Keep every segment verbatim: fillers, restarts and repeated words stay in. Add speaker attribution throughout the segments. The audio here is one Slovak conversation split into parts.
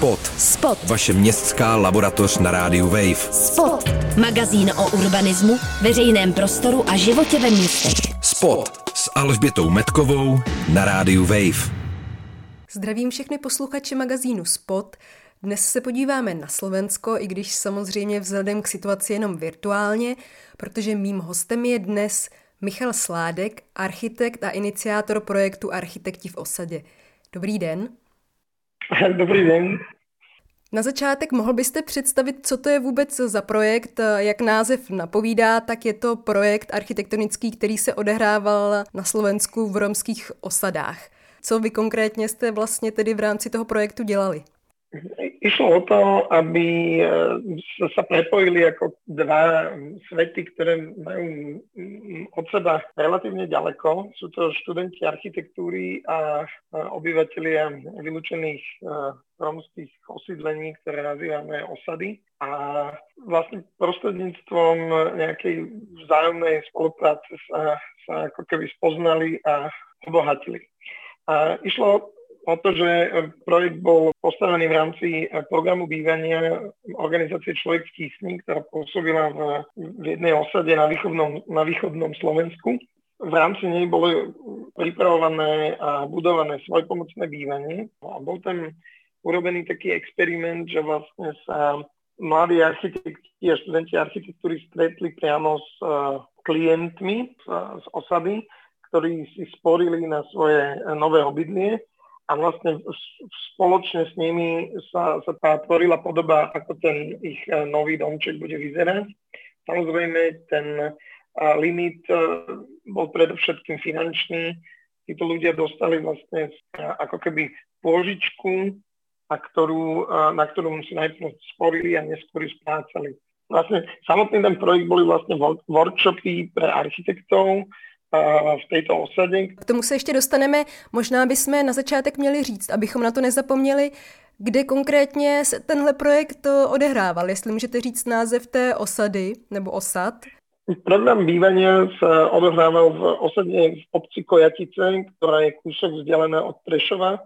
Speaker 1: Spot.
Speaker 2: Spot.
Speaker 1: Vaše městská laboratoř na rádiu Wave.
Speaker 2: Spot. Magazín o urbanismu, veřejném prostoru a životě ve městech.
Speaker 1: Spot s Alžbětou Metkovou na rádiu Wave.
Speaker 3: Zdravím všechny posluchače magazínu Spot. Dnes se podíváme na Slovensko, i když samozřejmě vzhledem k situaci jenom virtuálně, protože mým hostem je dnes Michal Sládek, architekt a iniciátor projektu Architekti v osadě. Dobrý den.
Speaker 4: Dobrý den.
Speaker 3: Na začátek mohl byste představit, co to je vůbec za projekt? Jak název napovídá, tak je to projekt architektonický, který se odehrával na Slovensku v romských osadách. Co vy konkrétně jste vlastně tedy v rámci toho projektu dělali?
Speaker 4: Išlo o to, aby sa prepojili ako dva svety, ktoré majú od seba relatívne ďaleko. Sú to študenti architektúry a obyvatelia vylúčených rómskych osídlení, ktoré nazývame osady. A vlastne prostredníctvom nejakej vzájomnej spolupráce sa, sa ako keby spoznali a obohatili. A išlo o to, že projekt bol postavený v rámci programu bývania organizácie Človek v tísni, ktorá pôsobila v, v jednej osade na východnom, na východnom Slovensku. V rámci nej boli pripravované a budované svojpomocné bývanie. A bol tam urobený taký experiment, že vlastne sa mladí architekti a študenti architektúry stretli priamo s klientmi z, z osady, ktorí si sporili na svoje nové obydlie. A vlastne spoločne s nimi sa, sa tá tvorila podoba, ako ten ich nový domček bude vyzerať. Samozrejme, ten limit bol predovšetkým finančný. Títo ľudia dostali vlastne ako keby pôžičku, a ktorú, na ktorú si najprv sporili a neskôr splácali. Vlastne samotný ten projekt boli vlastne workshopy pre architektov v této osade.
Speaker 3: K tomu se ještě dostaneme. Možná bychom na začátek měli říct, abychom na to nezapomněli, kde konkrétně se tenhle projekt odehrával. Jestli můžete říct název té osady nebo osad.
Speaker 4: Program bývania sa odohrával v osade v obci Kojatice, ktorá je kúsok vzdialená od Prešova.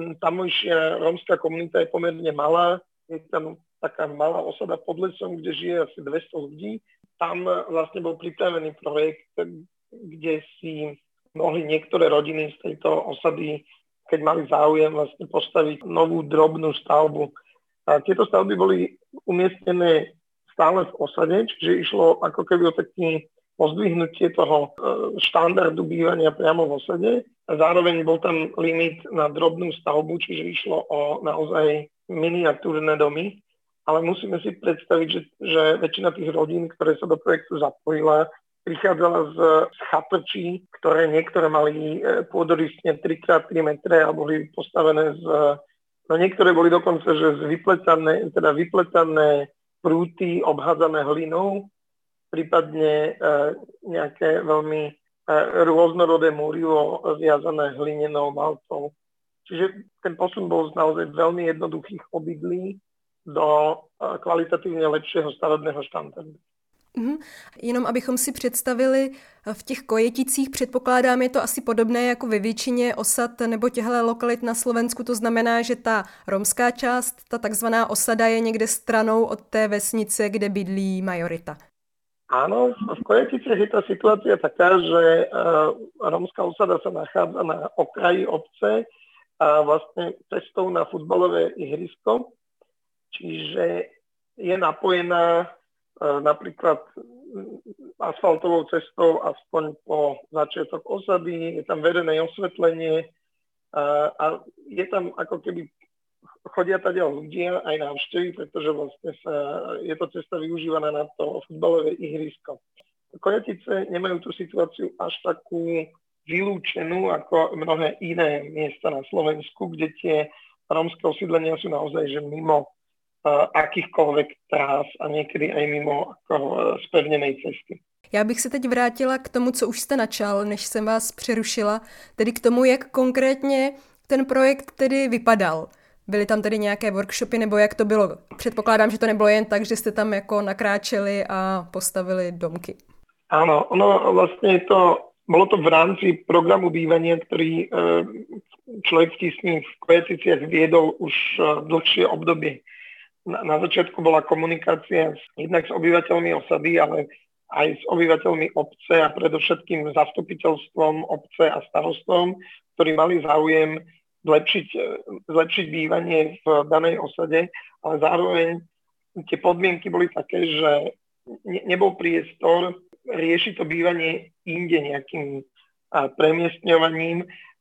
Speaker 4: Tamojšia rómska komunita je pomerne malá. Je tam taká malá osada pod lesom, kde žije asi dvesto ľudí. Tam vlastne bol pripravený projekt, kde si mohli niektoré rodiny z tejto osady, keď mali záujem, vlastne postaviť novú drobnú stavbu. A tieto stavby boli umiestnené stále v osade, čiže išlo ako keby o taký pozdvihnutie toho štandardu bývania priamo v osade. A zároveň bol tam limit na drobnú stavbu, čiže išlo o naozaj miniatúrne domy. Ale musíme si predstaviť, že, že väčšina tých rodín, ktoré sa do projektu zapojila, prichádzala z, z chatrčí, ktoré niektoré mali pôdorysne tri krát tri metre a boli postavené z... No niektoré boli dokonca, že z vypletané, teda vypletané prúty obhádzané hlinou, prípadne e, nejaké veľmi e, rôznorodé múrivo viazané hlinenou maltou. Čiže ten posun bol z naozaj veľmi jednoduchých obydlí do e, kvalitatívne lepšieho stavebného štandardu.
Speaker 3: Uhum. Jenom abychom si představili, v těch Kojeticích předpokládám, je to asi podobné jako ve většině osad nebo těchto lokalit na Slovensku, to znamená, že ta romská část, ta takzvaná osada je někde stranou od té vesnice, kde bydlí majorita.
Speaker 4: Áno, v Kojeticích je tá situácia taká, že uh, romská osada sa nachádza na okraji obce a vlastne cestou na futbalové ihrisko, čiže je napojená napríklad asfaltovou cestou aspoň po začiatok osady, je tam vedené osvetlenie a, a je tam ako keby chodia tadiaľ ľudia aj návštevy, pretože vlastne sa, je to cesta využívaná na to futbalové ihrisko. Kojatice nemajú tú situáciu až takú vylúčenú ako mnohé iné miesta na Slovensku, kde tie rómske osídlenia sú naozaj že mimo akýchkoľvek trás a niekedy aj mimo ako spevnenej cesty.
Speaker 3: Já bych se teď vrátila k tomu, co už jste načal, než jsem vás přerušila, tedy k tomu, jak konkrétně ten projekt tedy vypadal. Byly tam tedy nějaké workshopy, nebo jak to bylo? Předpokládám, že to nebylo jen tak, že jste tam jako nakráčeli a postavili domky.
Speaker 4: Áno, ono vlastne je to bolo to v rámci programu bývania, ktorý Človek v tísni v Kojeticiach viedol už dlhšie obdobie. Na, na začiatku bola komunikácia s, jednak s obyvateľmi osady, ale aj s obyvateľmi obce a predovšetkým zastupiteľstvom obce a starostom, ktorí mali záujem zlepšiť, zlepšiť bývanie v danej osade, ale zároveň tie podmienky boli také, že ne, nebol priestor riešiť to bývanie inde nejakým premiestňovaním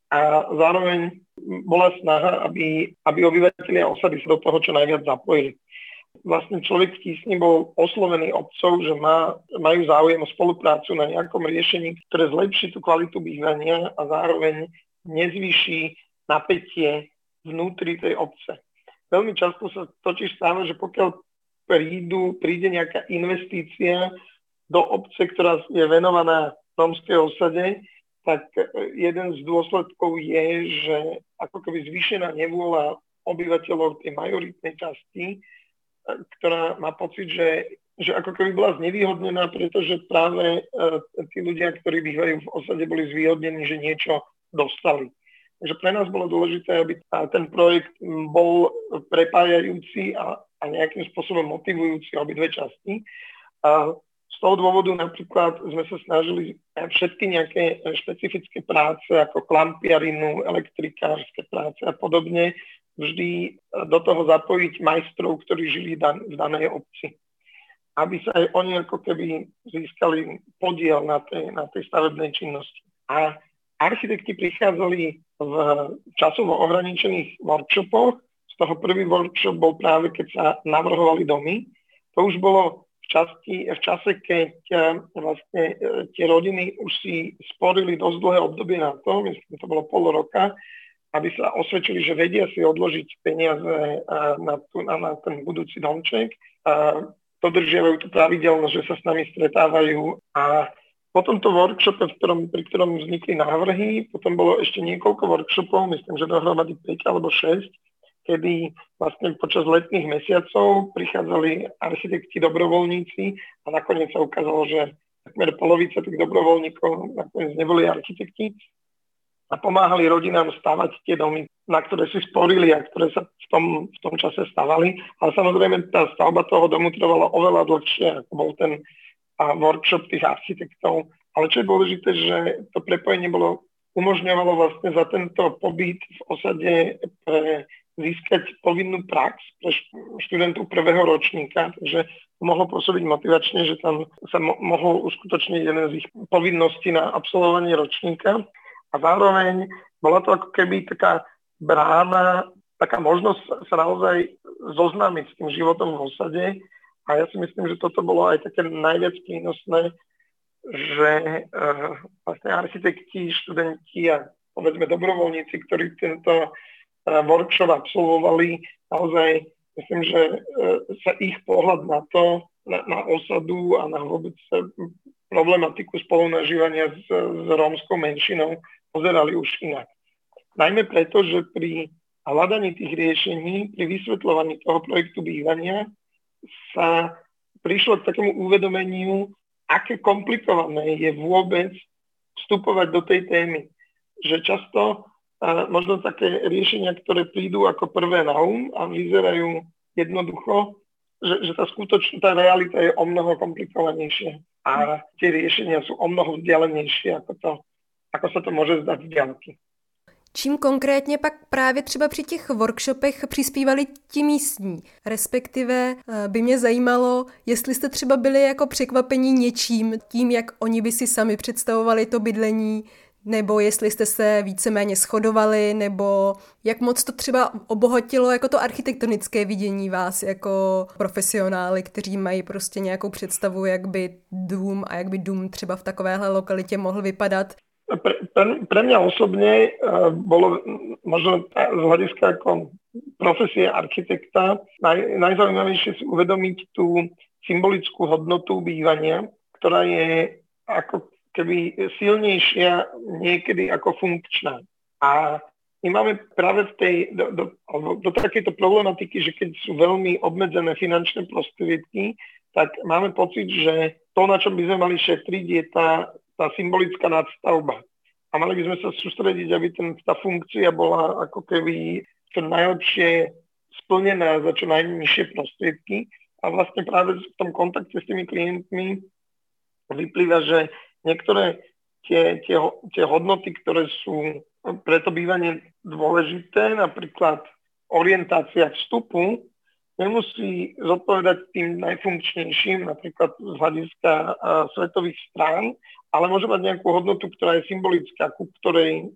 Speaker 4: a zároveň bola snaha, aby, aby obyvateľia osady sa do toho čo najviac zapojili. Vlastne Človek v tísni bol oslovený obcov, že má, majú záujem o spoluprácu na nejakom riešení, ktoré zlepší tú kvalitu bývania a zároveň nezvýši napätie vnútri tej obce. Veľmi často sa totiž stáva, že pokiaľ prídu, príde nejaká investícia do obce, ktorá je venovaná rómskej osade, tak jeden z dôsledkov je, že ako keby zvýšená nevôľa obyvateľov tej majoritnej časti, ktorá má pocit, že, že ako keby bola znevýhodnená, pretože práve uh, tí ľudia, ktorí bývajú v osade, boli zvýhodnení, že niečo dostali. Takže pre nás bolo dôležité, aby ten projekt bol prepájajúci a, a nejakým spôsobom motivujúci obidve časti. A z toho dôvodu napríklad sme sa snažili všetky nejaké špecifické práce ako klampiarinu, elektrikárske práce a podobne vždy do toho zapojiť majstrov, ktorí žili dan- v danej obci. Aby sa aj oni ako keby získali podiel na tej, na tej stavebnej činnosti. A architekti prichádzali v časovo ohraničených workshopoch. Z toho prvý workshop bol práve, keď sa navrhovali domy. To už bolo v, časti, v čase, keď vlastne tie rodiny už si sporili dosť dlhé obdobie na to, myslím, to bolo pol roka, aby sa osvedčili, že vedia si odložiť peniaze na, tu, na ten budúci domček. Dodržiavajú tú pravidelnosť, že sa s nami stretávajú. A po tomto workshope, v ktorom, pri ktorom vznikli návrhy, potom bolo ešte niekoľko workshopov, myslím, že dohromady päť alebo šesť, kedy vlastne počas letných mesiacov prichádzali architekti, dobrovoľníci a nakoniec sa ukázalo, že takmer polovica tých dobrovoľníkov nakoniec neboli architekti a pomáhali rodinám stavať tie domy, na ktoré si sporili a ktoré sa v tom, v tom čase stavali. Ale samozrejme tá stavba toho domu trvala oveľa dlhšie, ako bol ten a workshop tých architektov. Ale čo je dôležité, že to prepojenie bolo, umožňovalo vlastne za tento pobyt v osade pre získať povinnú prax pre študentov prvého ročníka, takže mohlo pôsobiť motivačne, že tam sa mo- mohol uskutočniť jeden z ich povinností na absolvovanie ročníka. A zároveň bola to ako keby taká brána, taká možnosť sa naozaj zoznámiť s tým životom v osade. A ja si myslím, že toto bolo aj také najviac prínosné, že uh, vlastne architekti, študenti a povedzme dobrovoľníci, ktorí tento uh, workshop absolvovali, naozaj myslím, že uh, sa ich pohľad na to, na, na osadu a na vôbec problematiku spolunažívania s, s rómskou menšinou pozerali už inak. Najmä preto, že pri hľadaní tých riešení, pri vysvetľovaní toho projektu bývania sa prišlo k takému uvedomeniu, aké komplikované je vôbec vstupovať do tej témy. Že často a možno také riešenia, ktoré prídu ako prvé na um a vyzerajú jednoducho, že, že tá skutočná tá realita je o mnoho komplikovanejšia a tie riešenia sú o mnoho vzdialenejšie, ako, to, ako sa to môže zdať z diaľky.
Speaker 3: Čím konkrétně pak právě třeba při těch workshopech přispívali ti místní? Respektive by mě zajímalo, jestli jste třeba byli jako překvapení něčím, tím, jak oni by si sami představovali to bydlení, nebo jestli jste se víceméně shodovali, nebo jak moc to třeba obohatilo jako to architektonické vidění vás jako profesionály, kteří mají prostě nějakou představu, jak by dům a jak by dům třeba v takovéhle lokalitě mohl vypadat.
Speaker 4: Pre, pre, pre mňa osobne uh, bolo možno z hľadiska ako profesie architekta naj, najzaujímavejšie si uvedomiť tú symbolickú hodnotu bývania, ktorá je ako keby silnejšia niekedy ako funkčná. A my máme práve v tej, do, do, do, do takejto problematiky, že keď sú veľmi obmedzené finančné prostriedky, tak máme pocit, že to, na čom by sme mali šetriť, je tá tá symbolická nadstavba. A mali by sme sa sústrediť, aby ten, tá funkcia bola ako keby čo najlepšie splnená za čo najnižšie prostriedky. A vlastne práve v tom kontakte s tými klientmi vyplýva, že niektoré tie, tie, tie hodnoty, ktoré sú pre to bývanie dôležité, napríklad orientácia vstupu, nemusí zodpovedať tým najfunkčnejším, napríklad z hľadiska uh, svetových strán, ale môže mať nejakú hodnotu, ktorá je symbolická, ku ktorej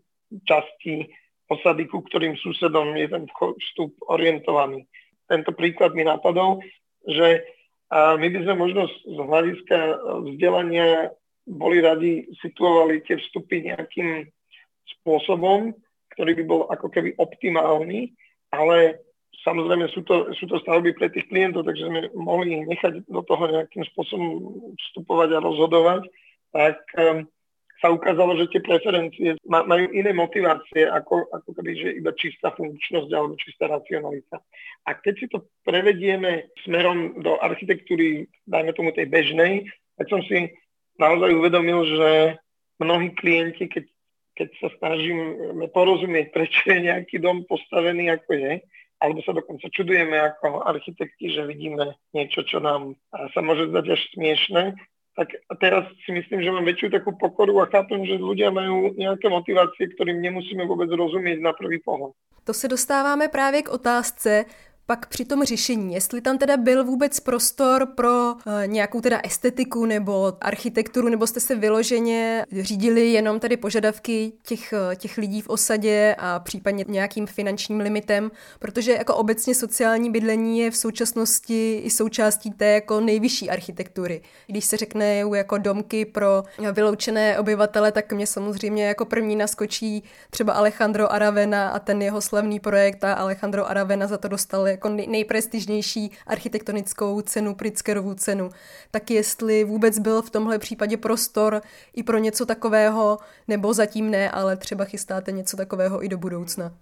Speaker 4: časti osady, ku ktorým susedom je ten vstup orientovaný. Tento príklad mi napadol, že uh, my by sme možno z hľadiska vzdelania boli radi situovali tie vstupy nejakým spôsobom, ktorý by bol ako keby optimálny, ale samozrejme sú to, sú to stavby pre tých klientov, takže sme mohli nechať do toho nejakým spôsobom vstupovať a rozhodovať, tak um, sa ukázalo, že tie preferencie majú iné motivácie ako, ako keby, že iba čistá funkčnosť alebo čistá racionalita. A keď si to prevedieme smerom do architektúry, dajme tomu tej bežnej, tak som si naozaj uvedomil, že mnohí klienti, keď, keď sa snažíme porozumieť, prečo je nejaký dom postavený ako je, alebo sa dokonca čudujeme ako architekti, že vidíme niečo, čo nám sa môže zdať až smiešné, tak teraz si myslím, že mám väčšiu takú pokoru a chápem, že ľudia majú nejaké motivácie, ktorým nemusíme vôbec rozumieť na prvý pohled.
Speaker 3: To se dostáváme právě k otázce, pak při tom řešení, jestli tam teda byl vůbec prostor pro uh, nějakou teda estetiku nebo architekturu, nebo jste se vyloženě řídili jenom tady požadavky těch, těch lidí v osadě a případně nějakým finančním limitem, protože jako obecně sociální bydlení je v současnosti i součástí té jako nejvyšší architektury. Když se řekne jako domky pro vyloučené obyvatele, tak mě samozřejmě jako první naskočí třeba Alejandro Aravena a ten jeho slavný projekt a Alejandro Aravena za to dostal jako nejprestižnější architektonickou cenu, Pritzkerovu cenu. Tak jestli vůbec byl v tomhle případě prostor i pro něco takového, nebo zatím ne, ale třeba chystáte něco takového i do budoucna?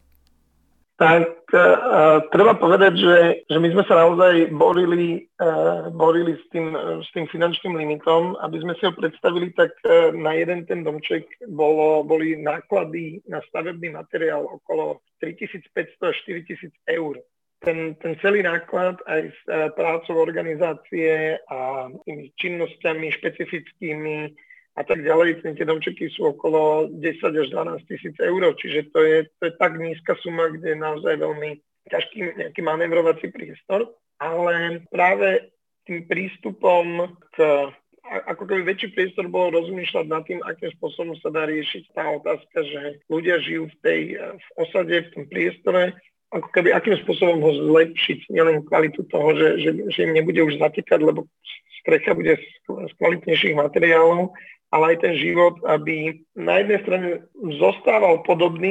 Speaker 4: Tak uh, treba povedať, že, že my sme sa naozaj borili, uh, borili s, tým, uh, s tým finančným limitom. Aby sme si ho predstavili, tak uh, na jeden ten domček bolo, boli náklady na stavebný materiál okolo tritisícpäťsto až štyritisíc eur. Ten, ten celý náklad aj s uh, prácou organizácie a tými činnosťami špecifickými a tak ďalej, tie domčeky sú okolo desať až dvanásť tisíc eur, čiže to je, to je tak nízka suma, kde je naozaj veľmi ťažký nejaký manévrovací priestor, ale práve tým prístupom k, ako keby väčší priestor bolo rozmýšľať nad tým, akým spôsobom sa dá riešiť tá otázka, že ľudia žijú v tej v osade, v tom priestore, ako keby akým spôsobom ho zlepšiť, nielen kvalitu toho, že, že, že im nebude už zatekať, lebo strecha bude z, z kvalitnejších materiálov, ale aj ten život, aby na jednej strane zostával podobný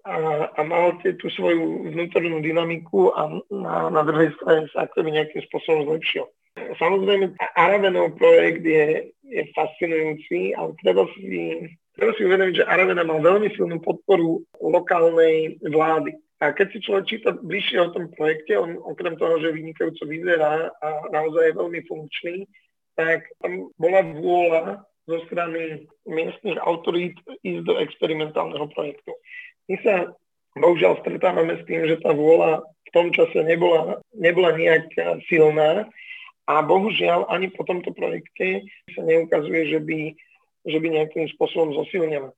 Speaker 4: a, a mal tú svoju vnútornú dynamiku a na, na druhej strane sa ako by nejakým spôsobom zlepšil. Samozrejme, Aravenov projekt je, je fascinujúci, ale treba si, treba si uvedomiť, že Aravena mal veľmi silnú podporu lokálnej vlády. A keď si človek číta bližšie o tom projekte, on okrem toho, že vynikajúco vyzerá a naozaj je veľmi funkčný, tak tam bola vôľa zo strany miestnych autorít ísť do experimentálneho projektu. My sa bohužiaľ stretávame s tým, že tá vôľa v tom čase nebola, nebola nejak silná a bohužiaľ ani po tomto projekte sa neukazuje, že by, že by nejakým spôsobom zosilnila.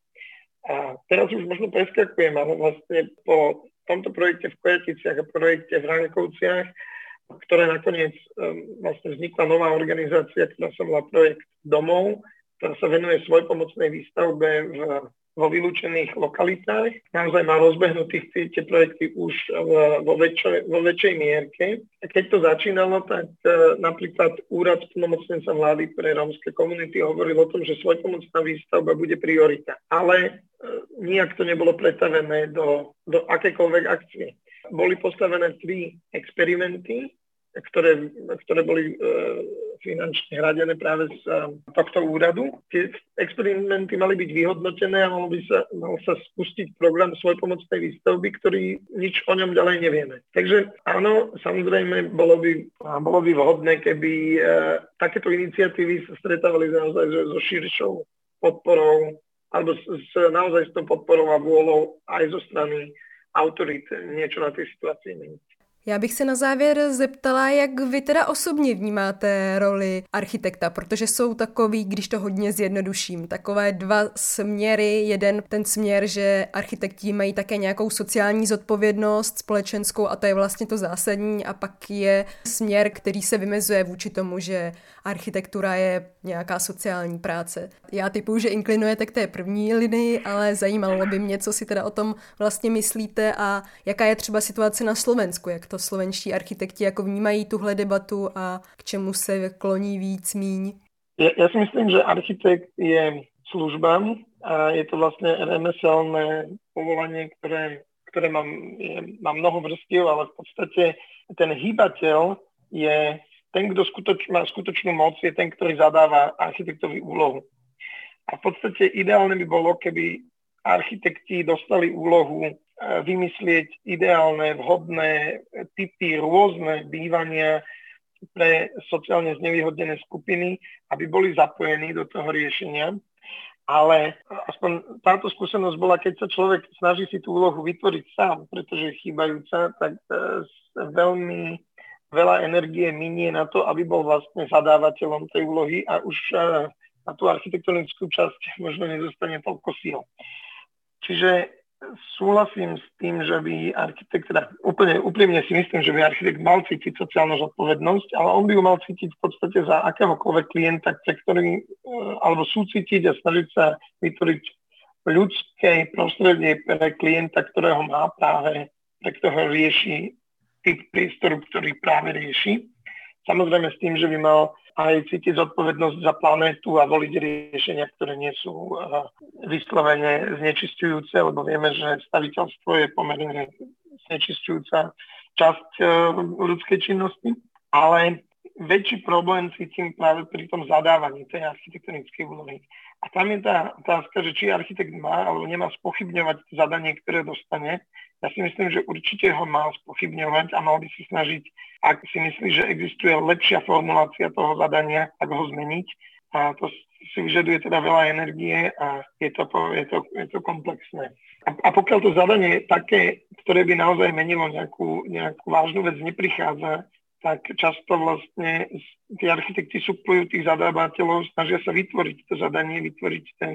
Speaker 4: A teraz už možno preskakujem, ale vlastne po tomto projekte v Kojaticiach a projekte v Ránkovciach, ktoré nakoniec um, vlastne vznikla nová organizácia, ktorá sa volá Projekt domov, ktorá sa venuje svojpomocnej výstavbe v, vo vylúčených lokalitách. Naozaj má rozbehnutých tie, tie projekty už v, vo, väčšej, vo väčšej mierke. A keď to začínalo, tak e, napríklad úrad plnomocnenca vlády pre rómske komunity hovoril o tom, že svojpomocná výstavba bude priorita. Ale e, nijak to nebolo pretavené do, do akékoľvek akcie. Boli postavené tri experimenty, ktoré, ktoré boli e, finančne hradené práve z e, tohto úradu. Tie experimenty mali byť vyhodnotené a mal by sa, mal sa spustiť program svojpomocnej výstavby, ktorý nič o ňom ďalej nevieme. Takže áno, samozrejme, bolo by, bolo by vhodné, keby e, takéto iniciatívy sa stretávali naozaj so, so širšou podporou, alebo s, s naozaj s tou podporou a vôľou aj zo strany autorít niečo na tej situácii meniť.
Speaker 3: Já bych se na závěr zeptala, jak vy teda osobně vnímáte roli architekta, protože jsou takový, když to hodně zjednoduším, takové dva směry. Jeden ten směr, že architekti mají také nějakou sociální zodpovědnost společenskou a to je vlastně to zásadní, a pak je směr, který se vymezuje vůči tomu, že architektura je nějaká sociální práce. Já typuju, že inklinujete k té první linii, ale zajímalo by mě, co si teda o tom vlastně myslíte a jaká je třeba situace na Slovensku, jak to slovenští architekti jako vnímají tuhle debatu a k čemu se kloní víc, míň?
Speaker 4: Ja, ja si myslím, že architekt je služba a je to vlastne remeselné povolanie, ktoré, ktoré má, je, má mnoho vrstiev, ale v podstate ten hýbateľ je ten, kto skutoč, má skutočnú moc, je ten, ktorý zadáva architektovi úlohu. A v podstate ideálne by bolo, keby architekti dostali úlohu vymyslieť ideálne, vhodné typy, rôzne bývania pre sociálne znevýhodnené skupiny, aby boli zapojení do toho riešenia. Ale aspoň táto skúsenosť bola, keď sa človek snaží si tú úlohu vytvoriť sám, pretože je chýbajúca, tak veľmi veľa energie minie na to, aby bol vlastne zadávateľom tej úlohy a už na tú architektonickú časť možno nezostane toľko síl. Čiže súhlasím s tým, že by architekt, teda úplne úprimne si myslím, že by architekt mal cítiť sociálnu zodpovednosť, ale on by ju mal cítiť v podstate za akéhokoľvek klienta, ktorý, alebo súcítiť a snažiť sa vytvoriť ľudské prostredie pre klienta, ktorého má práve, pre ktorého rieši typ priestoru, ktorý práve rieši. Samozrejme s tým, že by mal aj cítiť zodpovednosť za planétu a voliť riešenia, ktoré nie sú uh, vyslovene znečisťujúce, lebo vieme, že staviteľstvo je pomerne znečisťujúca časť uh, ľudskej činnosti. Ale väčší problém cítim práve pri tom zadávaní tej architektonickej úlohy. A tam je tá otázka, že či architekt má alebo nemá spochybňovať zadanie, ktoré dostane. Ja si myslím, že určite ho mal spochybňovať a mal by si snažiť, ak si myslí, že existuje lepšia formulácia toho zadania, tak ho zmeniť. A to si vyžaduje teda veľa energie a je to, je to, je to komplexné. A, a pokiaľ to zadanie také, ktoré by naozaj menilo nejakú, nejakú vážnu vec, neprichádza, tak často vlastne tí architekti suplujú tých zadávateľov, snažia sa vytvoriť to zadanie, vytvoriť ten,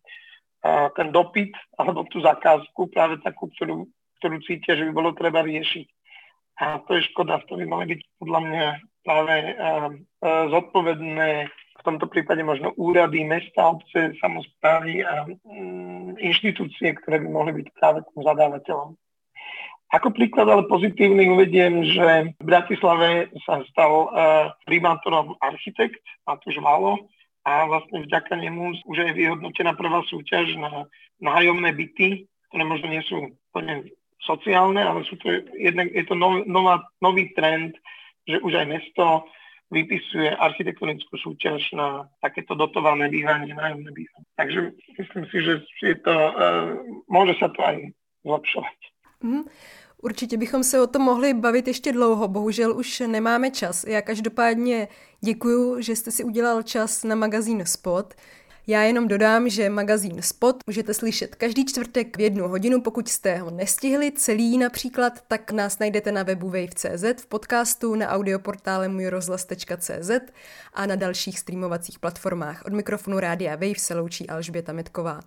Speaker 4: ten dopyt alebo tú zakázku, práve takú, ktorú ktorú cítia, že by bolo treba riešiť. A to je škoda, to by mali byť podľa mňa práve uh, uh, zodpovedné, v tomto prípade možno úrady, mesta, obce, samosprávy a um, inštitúcie, ktoré by mohli byť práve tým zadávateľom. Ako príklad ale pozitívny uvediem, že v Bratislave sa stal uh, primátorom architekt Matúš Valo a vlastne vďaka nemu už je vyhodnotená prvá súťaž na nájomné byty, ktoré možno nie sú plne sociálne, ale sú to jednak, je to nov, nová, nový trend, že už aj mesto vypisuje architektonickú súťaž na takéto dotované bývanie, nájomné bývanie. Takže myslím si, že je to, uh, môže sa to aj zlepšovať.
Speaker 3: Mm. Určitě bychom se o tom mohli bavit ještě dlouho, bohužel už nemáme čas. Já každopádně děkuju, že jste si udělal čas na magazín Spot. Já jenom dodám, že magazín Spot můžete slyšet každý čtvrtek v jednu hodinu, pokud jste ho nestihli celý například, tak nás najdete na webu wave tečka cé zet, v podcastu, na audioportále můj rozhlas tečka cé zet a na dalších streamovacích platformách. Od mikrofonu Rádia Wave se loučí Alžběta Metková.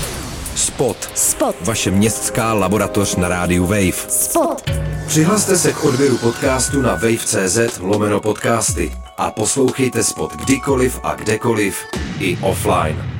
Speaker 1: Spot.
Speaker 2: Spot.
Speaker 1: Vaše městská laboratoř na rádiu Wave.
Speaker 2: Spot.
Speaker 1: Přihlaste se k odběru podcastu na wave tečka cé zet lomeno podcasty a poslouchejte Spot kdykoliv a kdekoliv i offline.